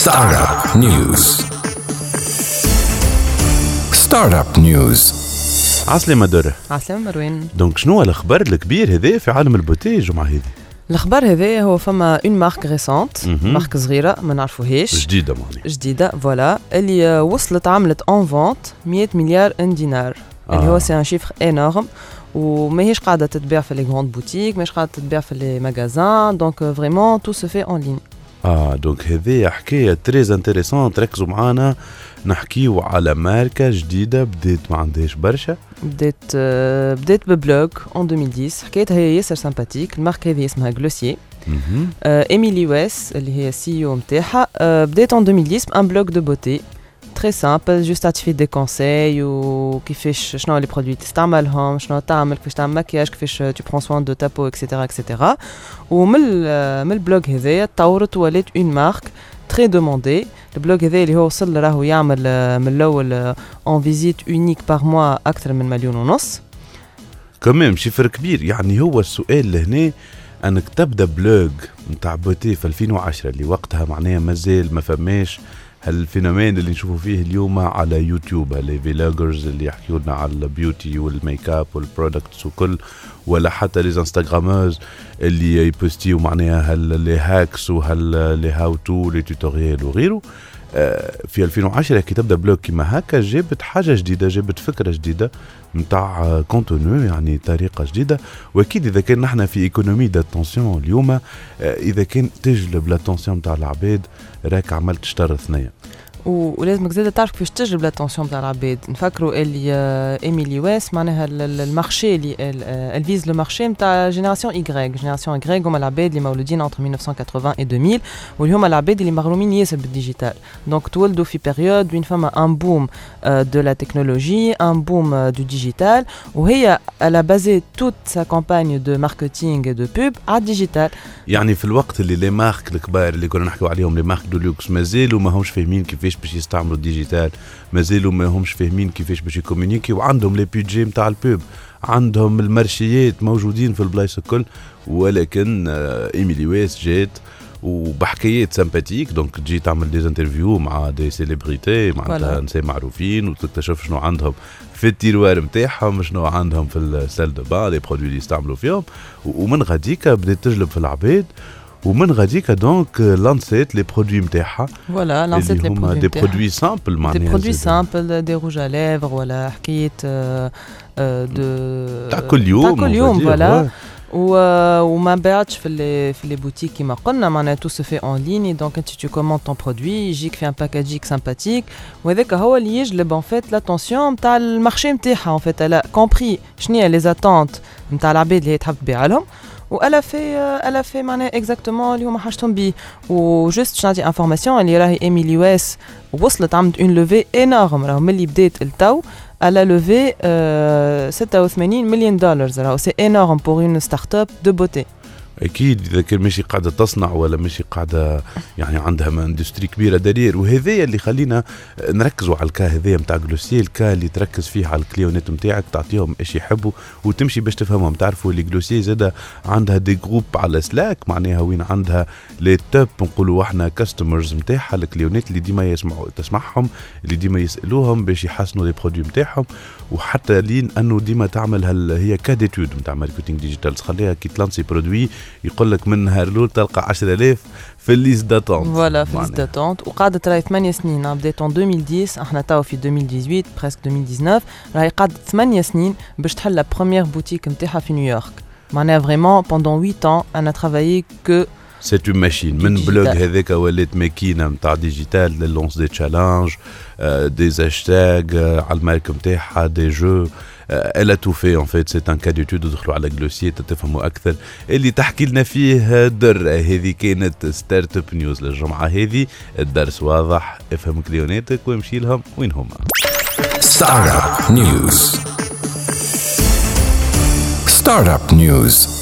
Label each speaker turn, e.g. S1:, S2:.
S1: Startup News. Startup News.
S2: عسلامة درة.
S3: عسلامة مروان.
S2: دونك شنو الأخبار الكبير هذا في عالم البوتي الجمعة هذه؟
S3: الأخبار هذا هو فما اون مارك ريسونت، مارك صغيرة ما نعرفوهاش،
S2: جديدة معني.
S3: جديدة فوالا، اللي وصلت عملت اون فونت 100 مليار دينار، اللي هو سي ان شيفر انورم، وماهيش قاعدة تتباع في لي غروند بوتيك، ماهيش قاعدة تتباع في لي ماغازان، دونك فريمون تو سو في اون لين.
S2: دونك هذه حكاية تريز انتريسون. تركزوا معانا نحكيو على ماركة جديدة بديت ما عندهاش برشا.
S3: بديت ببلوغ اون 2010، حكايتها هي ياسر سامباتيك. الماركة هذه اسمها غلوسيي. إيميلي ويس اللي هي سي او نتاعها بديت اون 2010 بان بلوغ دو بوتي très simple, juste à te faire des conseils ou كيفاش شنو les produits تستعملهم، شنو تعمل، كيفاش تعمل مكياج، كيفاش tu prends soin de ta peau etc. ومن البلوغ هذايا تطورت ولات une marque très demandée. البلوغ هذايا اللي هو وصل راهو يعمل من الاول en visite unique par mois اكثر من 1.5 مليون.
S2: كمان شفر كبير. يعني هو السؤال لهنا انك تبدا بلوغ نتاع بوتي في 2010 اللي وقتها معناها مازال ما فماش هالفينومين اللي نشوفوا فيه اليوم على يوتيوب، اللي فيلاجرز اللي يحكيوا لنا على البيوتي والميك اب والبرودكتس وكل، ولا حتى لي انستغراموز اللي يبوستيو معناها هاللي هاكس وهاللي هاو تو لي توتوريال وغيره. في 2010 كي تبدا بلوك كيما هكا جابت حاجه جديده، جابت فكره جديده نتاع كونتونو، يعني طريقه جديده. واكيد اذا كان نحن في ايكونومي داتونسيون اليوم، اذا كان تجلب لاتونسيون نتاع العباد راك عملت شطر ثنيه.
S3: ولازمك زاده تعرف كيفاش تجلب لاتونسيون تاع العباد. نفكروا اللي ايميلي ويس معناها المارشي اللي الفيز لو مارشي نتاع جينيراسيون اي هما العباد اللي مولودين entre 1980 و 2000، واللي هما العباد اللي مغرومين ياسر بالديجيتال. دونك تولدوا في بيريود وين فما ان بوم دو لا تكنولوجي، ان بوم دو ديجيتال، وهي على بازي توت سا كامباني دو ماركتينغ دو بوب على الديجيتال. يعني
S2: في الوقت اللي لي مارك الكبار اللي كنا نحكيو عليهم، لي مارك دو لوكس، مازالوا ما همش فاهمين كيفاش باش يستعملوا الديجيتال، مازالوا ما همش فاهمين كيفاش باش يكومونيكي، وعندهم لي بيدجي نتاع البوب، عندهم المارشيات موجودين في البلايص الكل. ولكن ايميلي ويس جات وبحكايات سامباتيك، دونك تجي تعمل دي انترفيو مع دي سيليبريتي، معناتها نساء معروفين، وتكتشف شنو عندهم في التيروار نتاعهم، شنو عندهم في السال دو با، لي برودوي اللي يستعملوا فيهم. ومن غاديكا بدات تجلب في العباد، ومن غاديكا دونك لانسيت لي برودوي نتاعها.
S3: فوالا لانسيت لي برودوي
S2: دي برودوي سامبل، معناها
S3: دي برودوي سامبل، دي روج ا ليفر، ولا حكايه
S2: تاع كل يوم
S3: فوالا. وما بيعتش في لي بوتيك كيما قلنا، معناها تو سو في اون لين. دونك انت تو كوموند طون برودوي، يجيك في ان باكاجيك سامباتيك، وهذاك هو اللي يجلب ان فيت لاتونسيون نتاع المارشي نتاعها. ان فيت الا كومبري شنو هي لي زاتونت نتاع العباد اللي هي تحب تبيع لهم، والا في معناها اكزاكتومون اللي هما حاجتهم بيه. وجست باش نعطي انفورماسيون اللي راهي ايميلي ويس وصلت عملت اون لوفي انورم، راهو ملي بدات التو على لوفي 86 مليون دولار. راهو سي انورم بور اون ستارت اب دو بوتي.
S2: اكيد اذا كان ماشي قاعده تصنع ولا ماشي قاعده يعني عندها اندستري كبيره دليل. وهذا اللي خلينا نركزوا على الكا هذايا نتاع غلوسيي، الكا اللي تركز فيه على الكليونات نتاعك، تعطيهم ايش يحبوا وتمشي باش تفهمهم. تعرفوا اللي غلوسيي زاده عندها دي جروب على سلاك، معناها وين عندها لي توب نقولوا احنا كاستمرز نتاعها، الكليونات اللي ديما تسمعهم، اللي ديما يسالوهم باش يحسنوا لي برودوي نتاعهم. وحتى لين انه ديما تعمل هي كاديتود نتاع ماركتينغ ديجيتال، تخليها كي تلانسي برودوي يقول لك من نهار الاول تلقى 10,000 في الليست داتونت.
S3: فوالا في الليست داتونت. وقاعده راهي 8 سنين، بدات en 2010، احنا تاو في 2018 بريسك 2019، راهي قعدت 8 سنين باش تحل لا بروميير بوتيك نتاعها في نيويورك. معناها فريمون pendant 8 ans انا ترافايي كو
S2: سيت اون ماشين. من بلوغ هذاك ولات ماكينه نتاع ديجيتال، لونس دي تشالنج، دي هاشتاج على المارك نتاعها، دي جو. elle a tout fait en fait. c'est un cas d'étude. ادخلوا على غلوسيي تفهموا اكثر اللي تحكي لنا فيه در. هذه كانت ستارت اب نيوز للجمعه هذه. الدرس واضح، افهم كليوناتك وامشي لهم وين هما.
S1: ستارت اب نيوز. ستارت اب نيوز.